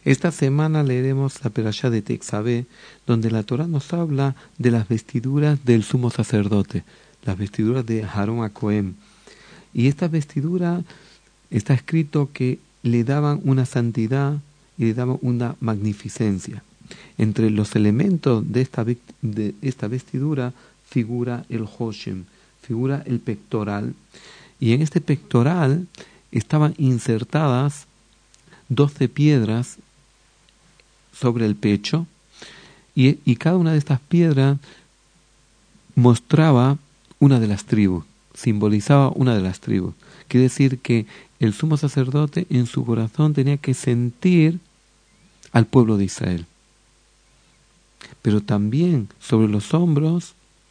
Esta semana leeremos la Perashá de Tetzaveh, donde la Torá nos habla de las vestiduras del sumo sacerdote, las vestiduras de Aarón a Cohen. Y esta vestidura está escrito que le daban una santidad y le daban una magnificencia. Entre los elementos de esta vestidura figura el Hoshem, figura el pectoral. Y en este pectoral estaban insertadas 12 piedras sobre el pecho, y cada una de estas piedras mostraba una de las tribus, simbolizaba una de las tribus. Quiere decir que el sumo sacerdote en su corazón tenía que sentir al pueblo de Israel. Pero también sobre los hombros,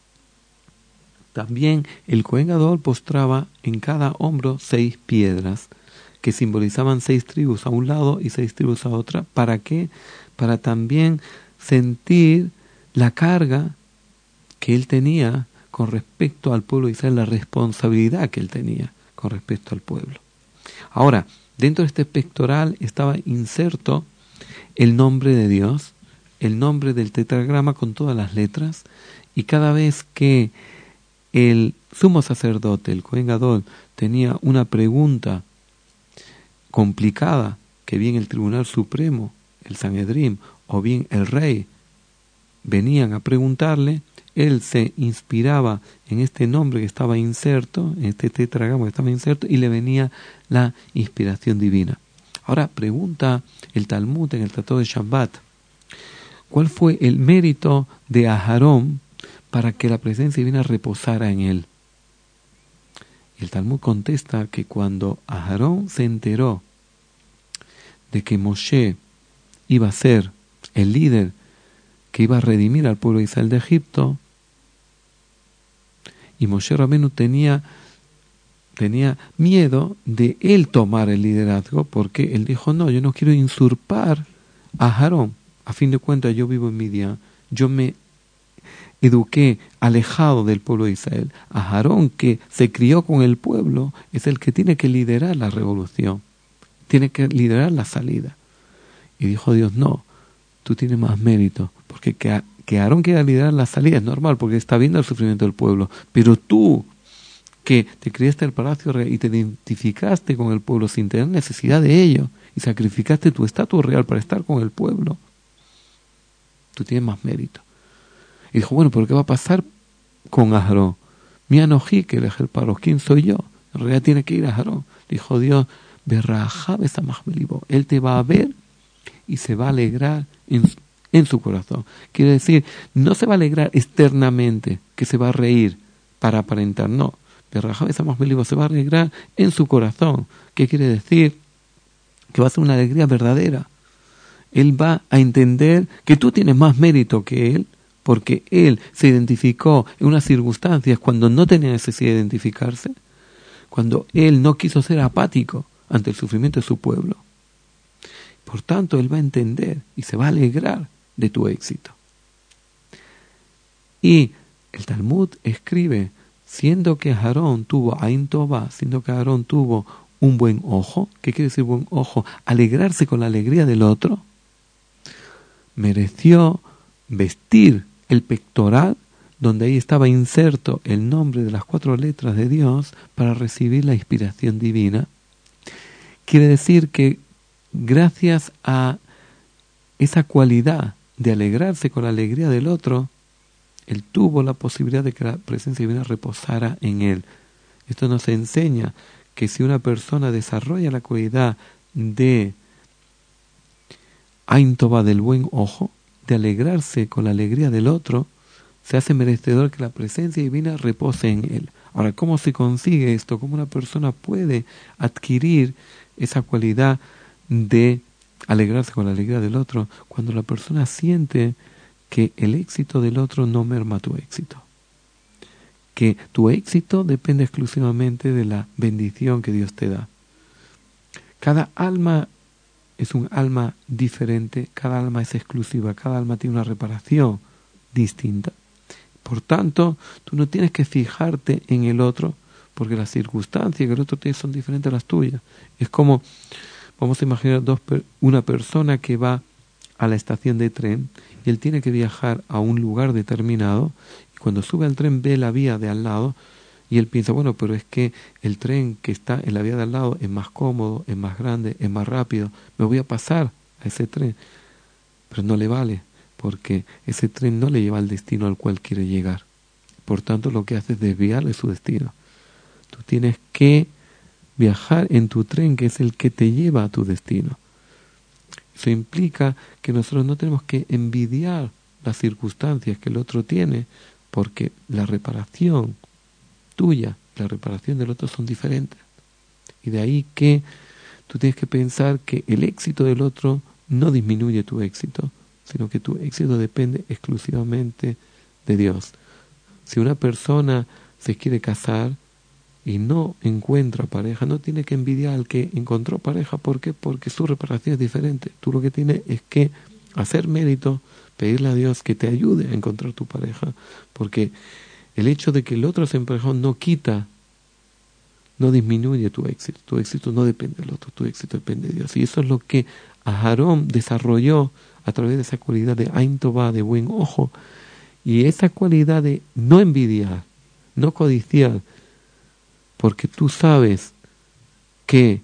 también el Cohen Gadol postraba en cada hombro 6 piedras que simbolizaban 6 tribus a un lado y 6 tribus a otra. ¿Para qué? Para también sentir la carga que él tenía con respecto al pueblo de Israel, la responsabilidad que él tenía con respecto al pueblo. Ahora, dentro de este pectoral estaba inserto el nombre de Dios, el nombre del tetragrama con todas las letras, y cada vez que el sumo sacerdote, el Cohen Gadol, tenía una pregunta complicada, que bien el Tribunal Supremo, el Sanedrín, o bien el rey venían a preguntarle, él se inspiraba en este nombre que estaba inserto, en este tetragrama que estaba inserto, y le venía la inspiración divina. Ahora pregunta el Talmud en el Tratado de Shabbat, ¿cuál fue el mérito de Aarón para que la presencia divina reposara en él? Y el Talmud contesta que cuando Aarón se enteró de que Moshe iba a ser el líder que iba a redimir al pueblo de Israel de Egipto, y Moshe Rabenu tenía miedo de él tomar el liderazgo, porque él dijo, no, yo no quiero usurpar a Aarón. A fin de cuentas, yo vivo en Midian, yo me eduqué alejado del pueblo de Israel. A Aarón, que se crió con el pueblo, es el que tiene que liderar la revolución, tiene que liderar la salida. Y dijo Dios, no, tú tienes más mérito, porque que Aarón quiera liderar la salida es normal, porque está viendo el sufrimiento del pueblo, pero tú, que te criaste en el palacio real y te identificaste con el pueblo sin tener necesidad de ello, y sacrificaste tu estatus real para estar con el pueblo, tú tienes más mérito. Y dijo, bueno, pero ¿qué va a pasar con Aarón? Mi anojí, que el paro, ¿quién soy yo? En realidad tiene que ir a Aarón. Dijo Dios, él te va a ver y se va a alegrar en su corazón. Quiere decir, no se va a alegrar externamente, que se va a reír para aparentar, no. Se va a alegrar en su corazón. ¿Qué quiere decir? Que va a ser una alegría verdadera. Él va a entender que tú tienes más mérito que él, porque él se identificó en unas circunstancias cuando no tenía necesidad de identificarse, cuando él no quiso ser apático ante el sufrimiento de su pueblo. Por tanto, él va a entender y se va a alegrar de tu éxito. Y el Talmud escribe, siendo que Aarón tuvo Ain Tová, siendo que Aarón tuvo un buen ojo, ¿qué quiere decir buen ojo? Alegrarse con la alegría del otro, mereció vestir el pectoral, donde ahí estaba inserto el nombre de las 4 letras de Dios, para recibir la inspiración divina. Quiere decir que gracias a esa cualidad de alegrarse con la alegría del otro, él tuvo la posibilidad de que la presencia divina reposara en él. Esto nos enseña que si una persona desarrolla la cualidad de Ain Tová, del buen ojo, de alegrarse con la alegría del otro, se hace merecedor que la presencia divina repose en él. Ahora, ¿cómo se consigue esto? ¿Cómo una persona puede adquirir esa cualidad de alegrarse con la alegría del otro? Cuando la persona siente que el éxito del otro no merma tu éxito, que tu éxito depende exclusivamente de la bendición que Dios te da. Cada alma es un alma diferente, cada alma es exclusiva, cada alma tiene una reparación distinta. Por tanto, tú no tienes que fijarte en el otro, porque las circunstancias que el otro tiene son diferentes a las tuyas. Es como, Vamos a imaginar una persona que va a la estación de tren y él tiene que viajar a un lugar determinado y cuando sube al tren ve la vía de al lado y él piensa, bueno, pero es que el tren que está en la vía de al lado es más cómodo, es más grande, es más rápido, me voy a pasar a ese tren. Pero no le vale, porque ese tren no le lleva al destino al cual quiere llegar. Por tanto, lo que hace es desviarle su destino. Tú tienes que viajar en tu tren, que es el que te lleva a tu destino. Eso implica que nosotros no tenemos que envidiar las circunstancias que el otro tiene, porque la reparación tuya, la reparación del otro son diferentes. Y de ahí que tú tienes que pensar que el éxito del otro no disminuye tu éxito, sino que tu éxito depende exclusivamente de Dios. Si una persona se quiere casar y no encuentra pareja, no tiene que envidiar al que encontró pareja. ¿Por qué? Porque su reparación es diferente. Tú lo que tienes es que hacer mérito, pedirle a Dios que te ayude a encontrar tu pareja, porque el hecho de que el otro se emparejó no quita, no disminuye tu éxito. Tu éxito no depende del otro, tu éxito depende de Dios. Y eso es lo que Aharón desarrolló a través de esa cualidad de Ain Tová, de buen ojo, y esa cualidad de no envidiar, no codiciar, porque tú sabes que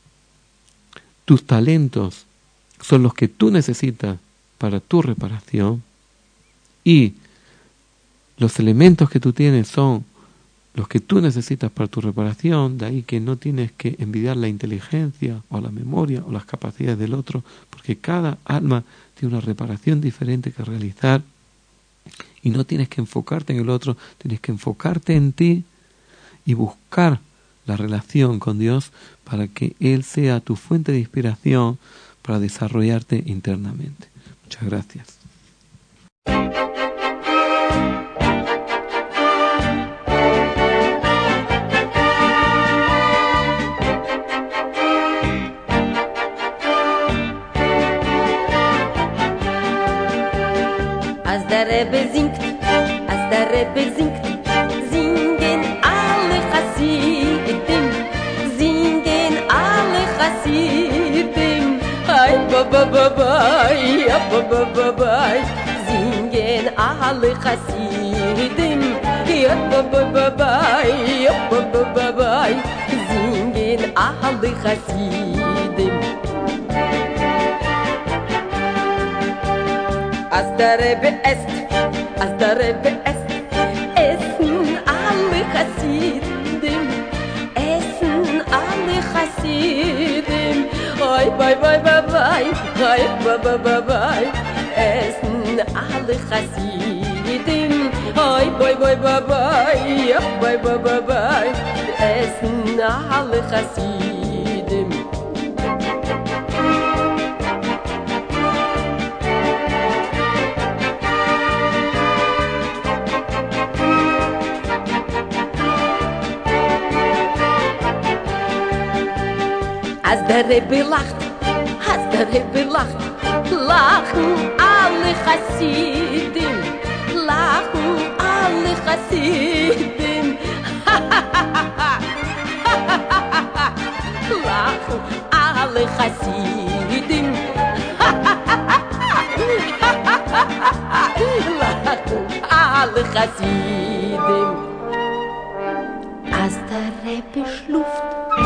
tus talentos son los que tú necesitas para tu reparación y los elementos que tú tienes son los que tú necesitas para tu reparación. De ahí que no tienes que envidiar la inteligencia o la memoria o las capacidades del otro, porque cada alma tiene una reparación diferente que realizar y no tienes que enfocarte en el otro, tienes que enfocarte en ti y buscar la relación con Dios para que Él sea tu fuente de inspiración para desarrollarte internamente. Muchas gracias. Als der Rebbe singt, singen alle Chassidim, ay ba ba ba ba, ya ba ba ba ba, singen alle Chassidim, ya ba ba ba ba, ya ba ba ba ba, singen alle Chassidim. Als der Rebbe esst, essen alle Chassidim, ay bye bye bye bye, ay bye bye bye bye, essen alle Chassidim, ay bye bye bye bye, ay bye bye bye bye, essen alle Chassidim. Als der Rebbe lacht, lachen alle Chassidim, lachen alle Chassidim, lachen alle Chassidim. Als der Rebbe schluft,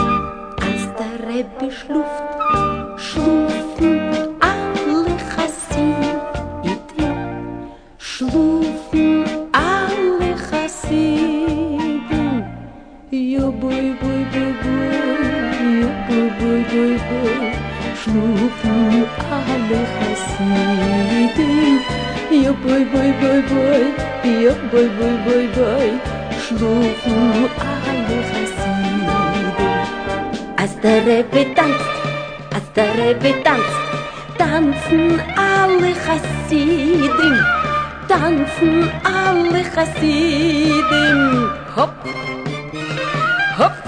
schlufen alle Chassidim, schlufen alle Chassidim, yo boy boy boy boy, yo boy boy boy boy, schlufen alle Chassidim, yo boy boy boy boy, yo boy boy boy boy, schlufen alle Chassidim. Als der Rebbe tanzt, tanzen alle Chassidim, hopp, hopp,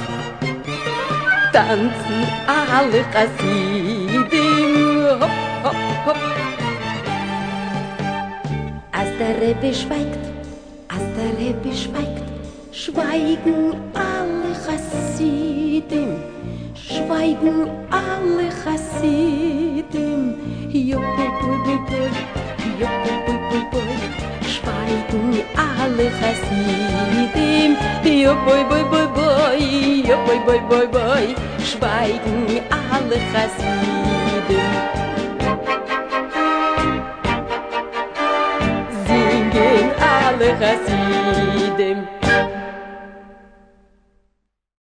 tanzen alle Chassidim, hopp, hopp, hopp. Als der Rebbe schweigt, schweigen alle Chassidim, Schweigen alle Chassidim, Jopoi, boi, boi, boi, Jopoi, boi, boi, boi. Schweigen alle Chassidim, Jopoi, boi, boi, boi, Jopoi, boi, boi, boi. Schweigen alle Chassidim. Singen alle Chassidim.